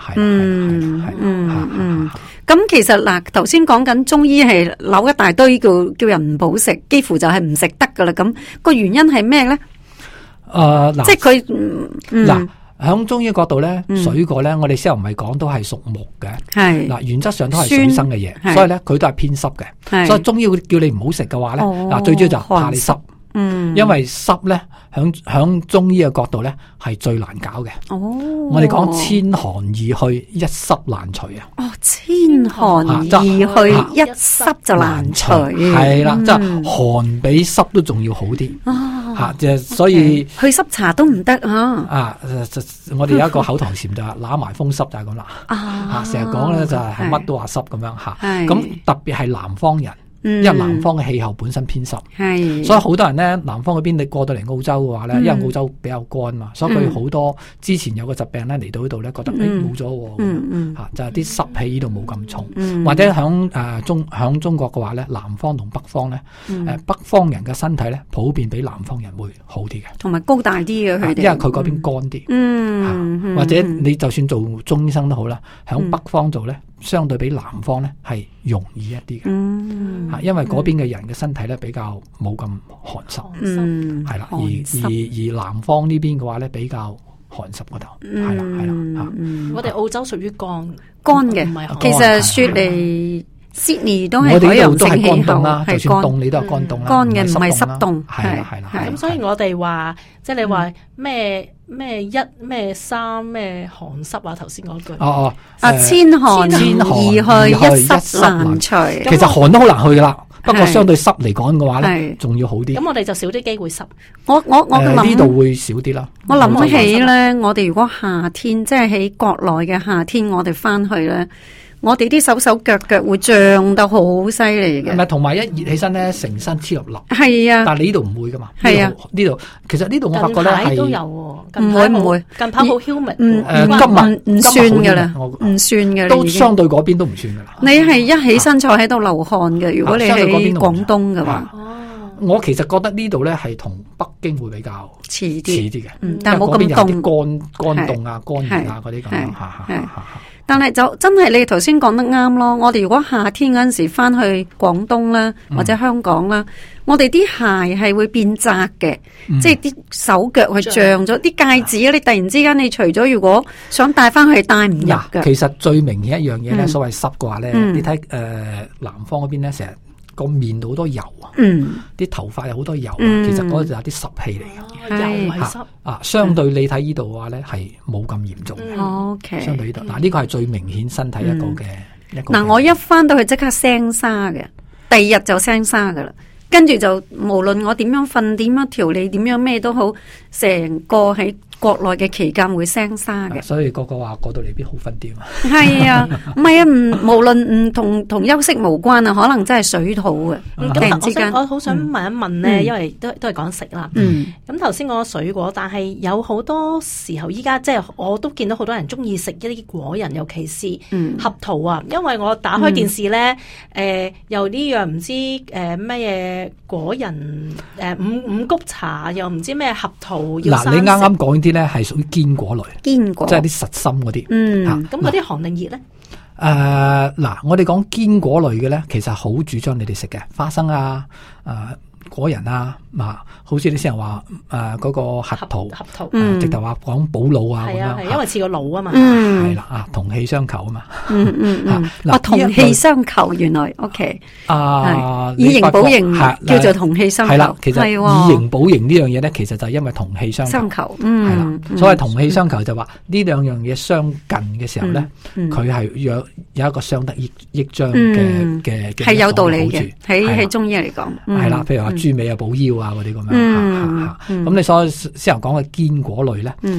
咁其實嗱，頭先講緊中醫係扭一大堆叫人唔好食，幾乎就係唔食得噶啦。咁個原因係咩咧？即係佢嗱，響中醫角度咧，水果咧，我哋先又唔係講都係屬木嘅，係嗱，原則上都係水生嘅嘢，所以咧佢都係偏濕嘅。所以中醫會叫你唔好食嘅話咧，嗱，最主要就怕你濕。因為濕咧，響中醫嘅角度咧係最難搞嘅。我哋講千寒易去，一濕難除啊。 千寒易去，一濕就難除。 係啦，即係寒比濕都仲要好啲。吓，即係所以去濕茶都唔得啊。 我哋有一個口頭禪就係揦埋風濕就係咁啦。成日講咧就係乜都話濕咁樣吓。咁特別係南方人。因為南方嘅氣候本身偏濕，所以好多人咧，南方嗰邊你過到嚟澳洲嘅話咧，因為澳洲比較乾嘛，所以佢好多之前有個疾病咧嚟到呢度咧，覺得冇咗，吓就係啲濕氣呢度冇咁重，或者響中國嘅話咧，南方同北方咧，北方人嘅身體咧普遍比南方人會好啲嘅，同埋高大啲嘅佢哋，因為佢嗰邊乾啲，或者你就算做中醫生都好啦，響北方做咧。相對比南方咧係容易一啲嘅，因為嗰邊嘅人嘅身體咧比較冇咁寒濕，係啦，而南方呢邊嘅話咧比較寒濕嗰度，係啦， 我哋澳洲屬於乾嘅，其實雪梨、Sydney 都係海洋性氣候啦， 就算凍你都係乾凍啦， 乾嘅唔係濕凍， 係啦。 咁所以我哋話，即係你話咩三咩寒濕啊？頭先嗰句千寒易去，一濕難除。 其實寒都好難去噶啦，不過相對濕嚟講嘅話咧，仲要好啲。 咁我哋就少啲機會濕。 我諗呢度會少啲啦。 我諗起咧，我哋如果夏天即係喺國內嘅夏天，我哋翻去咧。我哋啲手腳會脹得好犀利嘅， 唔係同埋一熱起身咧，成身黐粒粒。係啊， 但係你呢度唔會噶嘛？ 係啊， 呢度其實呢度我發覺咧係都有，唔會近排好 humid， 唔算噶啦，唔算嘅， 都相對嗰邊都唔算噶啦。 你係一起身坐喺度流汗嘅，如果你喺廣東嘅話。 我其實覺得呢度咧係同北京會比較遲啲嘅， 但係冇咁凍，乾凍啊、乾熱啊嗰啲咁樣。 但係就真係你頭先講得啱咯。我哋如果夏天嗰陣時翻去廣東啦，或者香港啦，我哋啲鞋係會變窄嘅，即係啲手腳係脹咗，啲戒指你突然之間你除咗，如果想戴翻去戴唔入嘅。 其實最明顯一樣嘢咧，所謂濕嘅話咧，你睇南方嗰邊咧成日。個面度好多油啊，啲頭髮有好多油啊，其實嗰個就係啲濕氣嚟嘅， 油係濕相對你睇呢度嘅話咧，係冇咁嚴重嘅。 OK， 相對呢度，呢個係最明顯身體一個嘅一個。 我一翻到去即刻聲沙嘅，第二日就聲沙噶啦，跟住就無論我點樣瞓、點樣調理、點樣咩都好，成個喺國內嘅期間會聲沙嘅， 所以個個話過到嚟邊好瞓啲嘛。 係啊，唔係啊，無論唔同休息無關啊，可能真係水土嘅。 咁我好想問一問咧，因為都係講食啦。咁頭先講水果，但係有好多時候依家即係我都見到好多人中意食一啲果仁，尤其是合桃啊。因為我打開電視咧，又呢樣唔知咩嘢果仁，五穀茶又唔知咩合桃要生食。 嗱，你啱啱講啲咧係屬於堅果類， 堅果即係啲實心嗰啲。 咁嗰啲寒定熱咧？ 嗱，我哋講堅果類嘅咧，其實好主張你哋食嘅花生啊，果仁啊，好似你先人話嗰個核桃，直頭話講補腦啊咁樣， 因為似個腦啊嘛， 係啦，同氣相求啊嘛， 同氣相求原來 OK，以形補形叫做同氣相求， 係啦，其實以形補形呢樣嘢咧，其實就係因為同氣相求，係啦，所謂同氣相求就話呢兩樣嘢相近嘅時候咧，佢係有一個相得益彰嘅係有道理嘅，喺中醫嚟講，係啦，譬如話豬尾啊補腰啊嗰啲咁樣，咁你所先頭講嘅堅果類咧，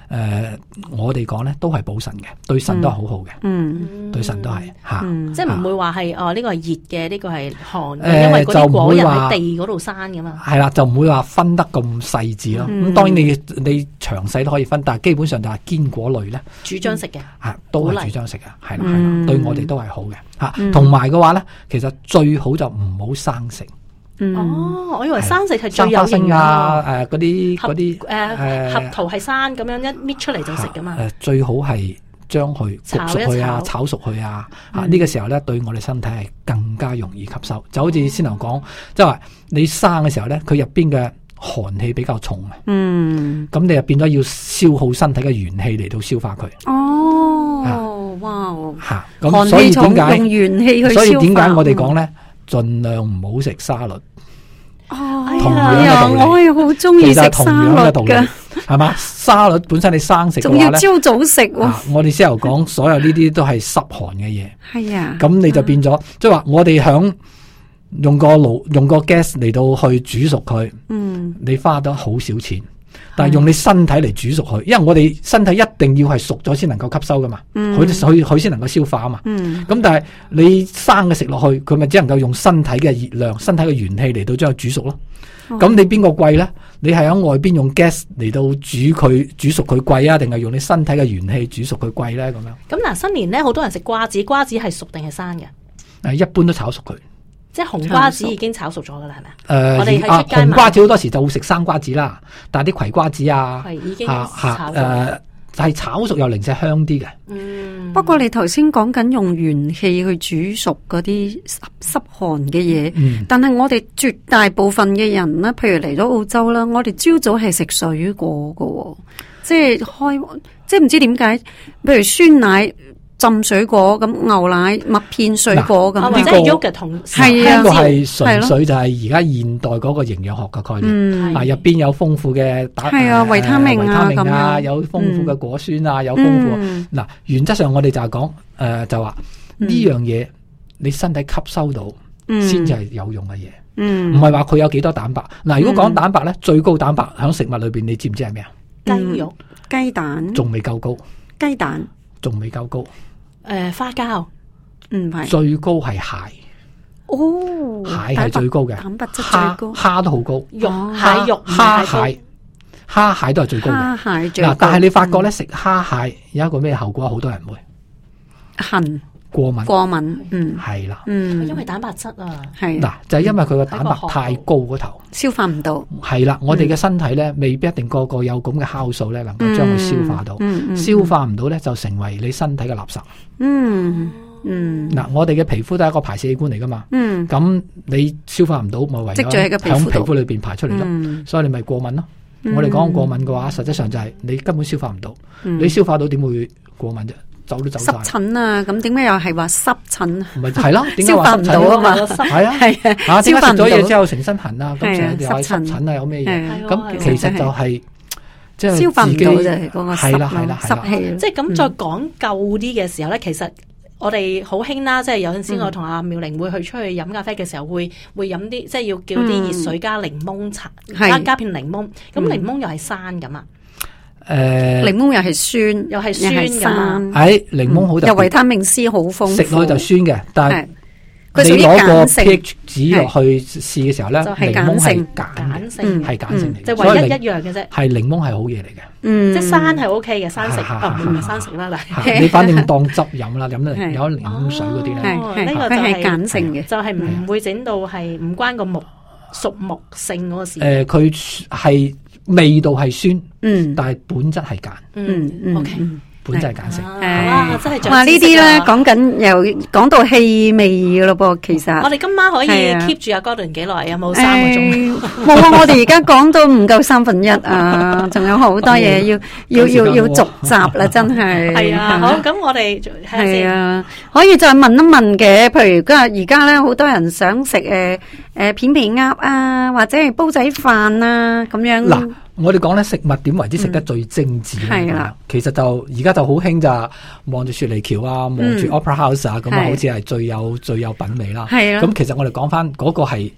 我哋講咧都係補腎嘅，對腎都係好好嘅，對腎都係吓， 即係唔會話係呢個係熱嘅，呢個係寒嘅，因為嗰啲果仁喺地嗰度生噶嘛。係啦， 就唔會話分得咁細緻咯。咁當然你詳細都可以分，但係基本上就係堅果類咧， 主張食嘅， 都係主張食嘅，係啦係啦，對我哋都係好嘅吓。同埋嘅話咧，其實最好就唔好生食。 我以為生食係最有營養啊！嗰啲核桃係生咁樣一搣出嚟就食噶嘛。 最好係將佢焗熟佢啊，炒熟佢啊。呢個時候咧，對我哋身體係更加容易吸收。就好似先頭講，即係話你生嘅時候咧，佢入邊嘅寒氣比較重啊。咁你就變咗要消耗身體嘅元氣嚟到消化佢。哇！咁所以點解用元氣去消化？所以點解我哋講咧，盡量唔好食沙律。同樣嘅道理， 我係好中意食沙律嘅， 係嘛？沙律本身你生食嘅話咧， 仲要朝早食。 我哋先頭講，所有呢啲都係濕寒嘅嘢。 係啊， 咁你就變咗，即係話我哋響用個gas 嚟到去煮熟佢。你花得好少錢，但係用你身體嚟煮熟佢，因為我哋身體一定要係熟咗先能夠吸收噶嘛，佢先能夠消化啊嘛。咁但係你生嘅食落去，佢咪只能夠用身體嘅熱量、身體嘅元氣嚟到將佢煮熟咯。咁你邊個貴咧？你係喺外邊用 gas 嚟到煮熟佢貴啊，定係用你身體嘅元氣煮熟佢貴咧？咁樣。 咁嗱，新年咧好多人食瓜子，瓜子係熟定係生嘅？ 一般都炒熟佢。即係紅瓜子已經炒熟咗噶啦，係咪？我哋喺出街買紅瓜子好多時就會食生瓜子啦，但係啲葵瓜子係已經炒熟， 係炒熟又零舍香啲嘅。 不過你頭先講緊用元氣去煮熟嗰啲濕寒嘅嘢，但係我哋絕大部分嘅人咧，譬如嚟咗澳洲啦，我哋朝早係食水果噶，即係唔知點解，譬如酸奶。浸水果咁，牛奶、麥片、水果咁， 或者係 yogurt 同係啊， 呢個係純粹就係而家現代嗰個營養學嘅概念。入邊有豐富嘅維他命啊， 有豐富嘅果酸啊，有豐富。嗱，原則上我哋就係講就話呢樣嘢你身體吸收到先至係有用嘅嘢，唔係話佢有幾多蛋白。嗱，如果講蛋白咧，最高蛋白喺食物裏邊，你知唔知係咩啊？ 雞肉、 雞蛋， 仲未夠高。雞蛋仲未夠高。 花膠唔係最高係蟹。蟹係最高嘅， 蛋白質最高， 蝦都好高， 蟹肉、 蝦蟹都係最高嘅。 蝦蟹最高。 但係你發覺咧，食蝦蟹有一個咩後果？好多人會痕、 過敏，係啦， 因為蛋白質啊， 係嗱，就係因為佢個蛋白太高嗰頭， 消化唔到。 係啦，我哋嘅身體咧，未必一定個個有咁嘅酵素咧，能夠將佢消化到，消化唔到咧，就成為你身體嘅垃圾。嗱，我哋嘅皮膚都係一個排泄器官嚟噶嘛，咁你消化唔到，咪唯有喺皮膚裏邊排出嚟咯，所以你咪過敏咯。我哋講過敏嘅話，實際上就係你根本消化唔到，你消化到點會過敏啫？走都走晒。 濕疹啊，咁點解又係話濕疹？ 唔係係咯， 消化唔到啊嘛， 係啊，吓點解食咗嘢之後成身痕啊？咁成日又係濕疹啊，有咩嘢？咁其實就係即係消化唔到就係嗰個濕氣。 即係咁再講究啲嘅時候咧，其實。我哋好興啦，即係有陣時我同阿妙玲會去出去飲咖啡嘅時候，會飲啲即係要叫啲熱水加檸檬茶，加片檸檬。咁檸檬又係生咁啊？ 檸檬又係酸， 又係酸㗎。 檸檬好特別， 又維他命 C 好豐富， 食落去就酸嘅，但係你攞個 pH 值落去試嘅時候咧，檸檬係鹼性，係鹼性嚟， 即係唯一一樣嘅啫。 係檸檬係好嘢嚟嘅。 即係生係 O K 嘅，生食唔係生食啦， 你反正當汁飲啦，飲得有檸檬水嗰啲咧， 呢個就係鹼性嘅， 就係唔會整到係唔關個熟木性嗰個事。 佢係味道係酸，但係本質係鹼。 O K。 本質係鹼性， 真係哇！呢啲咧講緊又講到氣味噶咯噃，其實我哋今晚可以 keep 住阿 Gordon 幾耐？有冇3個鐘？ 冇啊！我哋而家講到唔夠1/3啊，仲有好多嘢要續集啦，真係。 係啊，好，咁我哋係啊， 可以再問一問嘅，譬如而家咧，好多人想食片皮鴨啊，或者係煲仔飯啊咁樣。 嗱，我哋講咧食物點為之食得最精緻咧？其實就而家就好興就望住雪梨橋啊，望住 Opera House 啊，咁啊好似係最有品味啦。咁其實我哋講翻嗰個係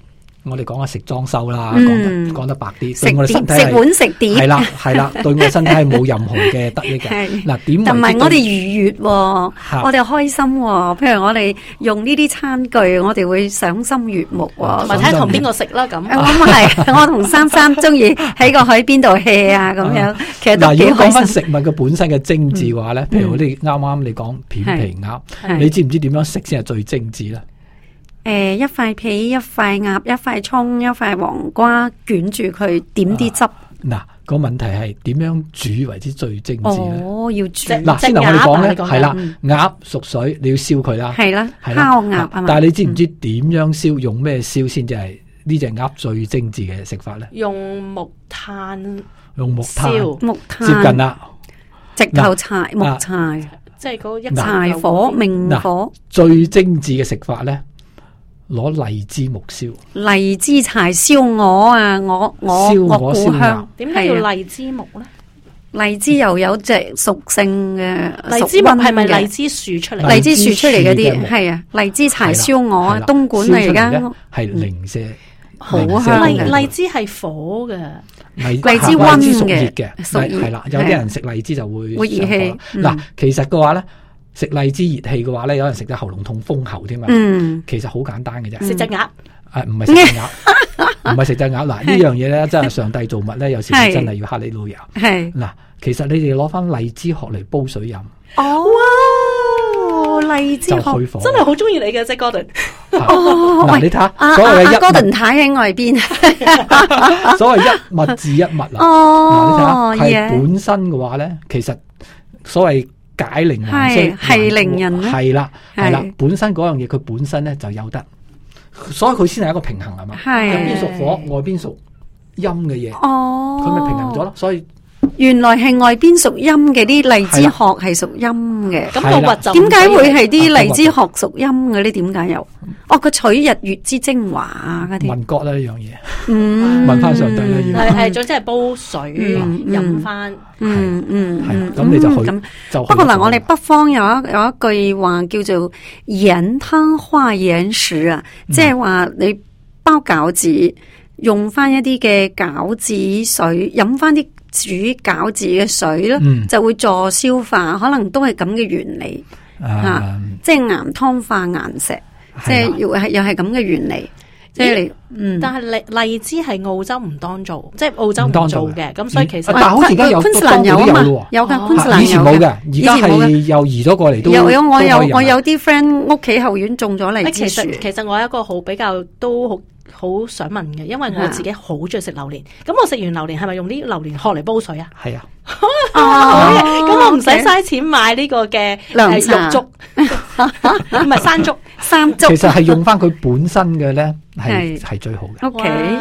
我哋講下食裝修啦，講得白啲， 食對我哋身體食碗食碟係啦，對我哋身體係冇任何嘅得益嘅。嗱，點同埋我哋愉悅，我哋開心。譬如我哋用呢啲餐具，我哋會賞心悅目， 同埋睇同邊個食啦咁。 咁係，我同珊珊中意喺個海邊度 hea 啊咁樣，其實都幾開心。 如果講翻食物嘅本身嘅精緻嘅話咧，譬如我哋啱啱你講片皮鴨，你知唔知點樣食先係最精緻咧？ 一塊皮，一塊鴨，一塊蔥，一塊黃瓜，捲住佢，點啲汁。 嗱，個問題係點樣煮為之最精緻咧？ 哦，要煮。 嗱，先頭我哋講咧，係啦，鴨熟水你要燒佢啦， 係啦，烤鴨啊嘛。 但係你知唔知點樣燒？用咩燒先至係呢隻鴨最精緻嘅食法咧？ 用木炭。 用木炭， 接近啦。 直頭柴木柴， 即係嗰一柴火明火。 最精緻嘅食法咧？攞荔枝木燒， 荔枝柴燒鵝啊！我故鄉點解要荔枝木咧？ 荔枝又有隻屬性嘅荔枝木係咪荔枝樹出嚟？ 荔枝樹出嚟嗰啲係啊，荔枝柴燒鵝啊，東莞嚟而家係零舍好香嘅。荔枝係火嘅， 荔枝溫嘅，係啦。有啲人食荔枝就會熱氣。 嗱，其實嘅話咧。食荔枝熱氣嘅話咧，有人食得喉嚨痛、風喉添嘛。其實好簡單嘅啫。 食隻鴨， 唔係食隻鴨，唔係食隻鴨。嗱，呢樣嘢咧，真係上帝造物咧，有時真係要哈利路亞。係嗱，其實你哋攞翻荔枝殼嚟煲水飲。 哦，荔枝殼真係好中意你嘅，即係 Gordon。 嗱，你睇下，所謂嘅 Gordon太喺外邊。 所謂一物治一物啦。嗱，你睇下，係本身嘅話咧，其實所謂。解鈴還須係令人咧， 係啦，本身嗰樣嘢佢本身咧就有得，所以佢先係一個平衡係嘛，入邊屬火，外邊屬陰嘅嘢，佢咪平衡咗咯，所以。 原來係外邊屬陰嘅啲荔枝殼係屬陰嘅， 咁個核就點解會係啲荔枝殼屬陰嘅咧？點解又？佢取日月之精華啊！嗰啲問國啦呢樣嘢，問翻上帝啦， 係總之係煲水飲翻， 咁你就去。 不過嗱，我哋北方有一句話叫做鹽湯化鹽食啊，即係話你包餃子用翻一啲嘅餃子水，飲翻啲。煮餃子嘅水咧，就會助消化，可能都係咁嘅原理吓，即係岩湯化岩石，即係又係咁嘅原理，即係你但係荔枝係澳洲唔當做，即係澳洲唔做嘅，咁所以其實但係好似而家有昆士蘭有啊嘛，有噶昆士蘭有， 以前冇嘅，而家係又移咗過嚟都我有啲 friend 屋企後院種咗荔枝樹。 其實我有一個好比較都好想問嘅，因為我自己好中意食榴蓮，咁我食完榴蓮係咪用啲榴蓮殼嚟煲水啊？ 係啊， 咁我唔使嘥錢買呢個嘅肉粥，唔係山竹， 其實係用翻佢本身嘅咧，係最好嘅。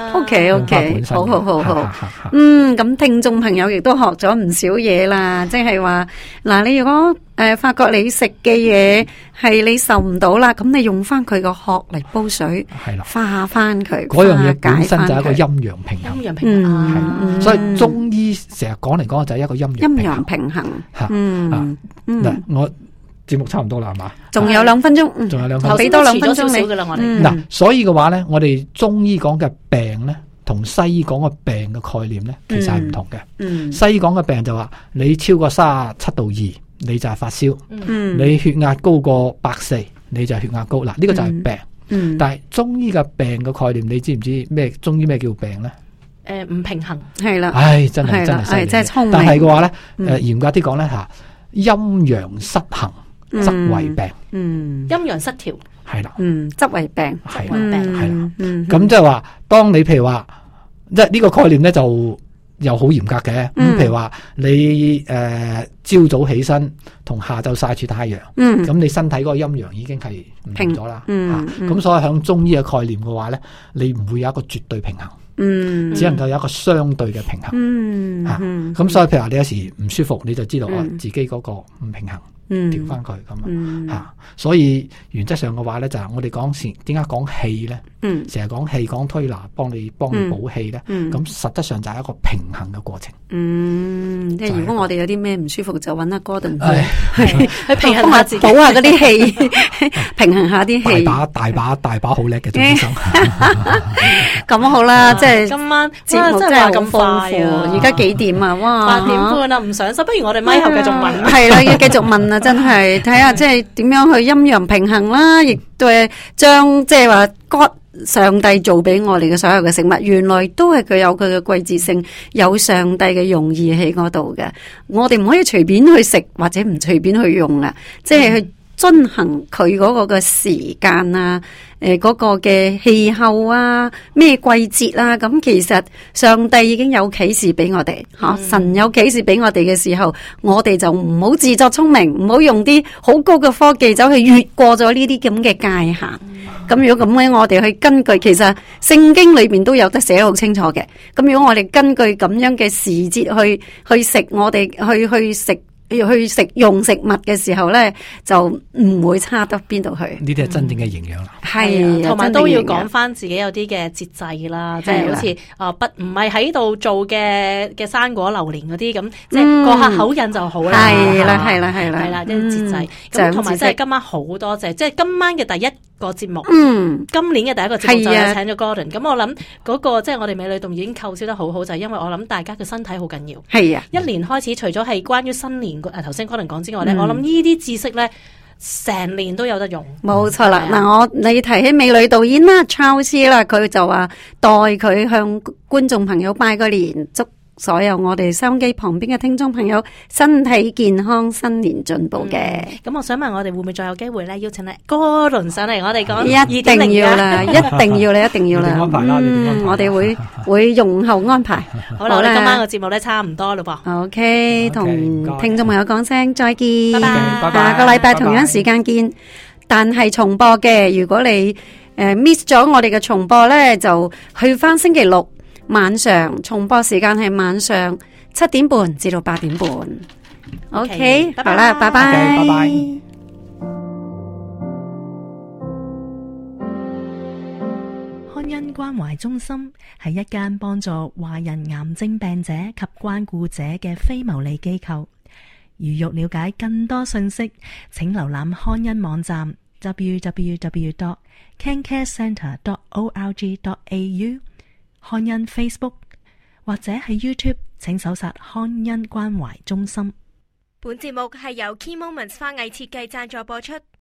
OK，好，咁聽眾朋友亦都學咗唔少嘢啦，即係話嗱，你如果發覺你食嘅嘢係你受唔到啦，咁你用翻佢個殼嚟煲水，係啦，化翻佢， 嗰樣嘢本身就係一個陰陽平衡， 陰陽平衡， 所以中醫成日講嚟講就係一個陰陽平衡。嗱，我節目差唔多啦，係嘛？ 仲有2分鐘，俾多2分鐘你。 嗱，所以嘅話咧，我哋中醫講嘅病咧，同西醫講嘅病嘅概念咧，其實係唔同嘅。西醫講嘅病就話你超過37.2度，你就係發燒。你血壓高過140，你就係血壓高。嗱，呢個就係病。但係中醫嘅病嘅概念，你知唔知咩？中醫咩叫病咧？ 唔平衡係啦。 真係犀利。但係嘅話咧，嚴格啲講咧吓，陰陽失衡則為病。 陰陽失調係啦。 則為病。 係啦。咁即係話，當你譬如話，即係呢個概念咧就。又好嚴格嘅，譬如話你朝早起身同下晝曬住太陽，咁你身體嗰個陰陽已經係唔同咗啦。咁所以喺中醫嘅概念嘅話咧，你唔會有一個絕對平衡，只能夠有一個相對嘅平衡。咁所以譬如話你有時唔舒服，你就知道自己嗰個唔平衡。 調翻佢咁啊。所以原則上嘅話咧，就係我哋講點解講氣咧？成日講氣講推拿，幫你補氣咧。咁實質上就係一個平衡嘅過程。 即係如果我哋有啲咩唔舒服，就揾阿 Gordon 去平衡下自己， 補下嗰啲氣，平衡下啲氣。 大把好叻嘅鍾醫生。 咁好啦，即係今晚節目真係咁豐富。而家幾點啊？哇 ，8點半啦，唔上手，不如我哋咪後繼續問。 係啦，要繼續問啊！真係睇下即係點樣去陰陽平衡啦，亦都係將即係話上帝做俾我哋嘅所有嘅食物，原來都係佢有佢嘅季節性，有上帝嘅用意喺嗰度嘅。我哋唔可以隨便去食或者唔隨便去用啊，即係去遵行佢嗰個嘅時間啊，嗰個嘅氣候啊，咩季節啊，咁其實上帝已經有啟示俾我哋，神有啟示俾我哋嘅時候，我哋就唔好自作聰明，唔好用啲好高嘅科技走去越過咗呢啲咁嘅界限。咁如果咁樣，我哋去根據，其實聖經裏邊都有得寫得好清楚嘅。咁如果我哋根據咁樣嘅時節去食，我哋去食用食物嘅時候咧，就唔會差得邊度去。 呢啲係真正嘅營養啦。 係，同埋都要講翻自己有啲嘅節制啦，即係好似唔係喺度做嘅生果榴蓮嗰啲咁，即係過下口癮就好啦。係啦，啲節制。咁同埋即係今晚好多謝，即係今晚嘅第一個節目，今年嘅第一個節目就係請咗 Gordon。咁我諗嗰個即係我哋美女洞已經構思得好好，就係因為我諗大家嘅身體好緊要。係啊，一年開始除咗係關於新年頭先 Gordon 講之外咧，我諗呢啲知識咧成年都有得用。冇錯啦，嗱你提起美女導演啦 Charles 啦，佢就話代佢向觀眾朋友拜個年，祝所有我哋收音機旁邊嘅聽眾朋友身體健康，新年進步嘅。咁我想問我哋會唔會再有機會咧邀請你 Gordon 上嚟我哋講？一定要啦，一定要啦，一定要啦。安排啦，我哋會容後安排。好啦，我哋今晚個節目咧差唔多嘞噃。OK，同聽眾朋友講聲再見，拜拜。下個禮拜同樣時間見，但係重播嘅。如果你miss 咗我哋嘅重播咧，就去翻星期六晚上重播時間係晚上7點半至到8點半。OK，好啦，拜拜。拜拜。康恩關懷中心係一間幫助華人癌症病者及關顧者嘅非牟利機構。如欲了解更多信息，請瀏覽康恩網站 www.cancarecentre.org.au， 康恩 Facebook 或者喺 YouTube 請搜索康恩關懷中心。本節目係由 Key Moments 花藝設計贊助播出。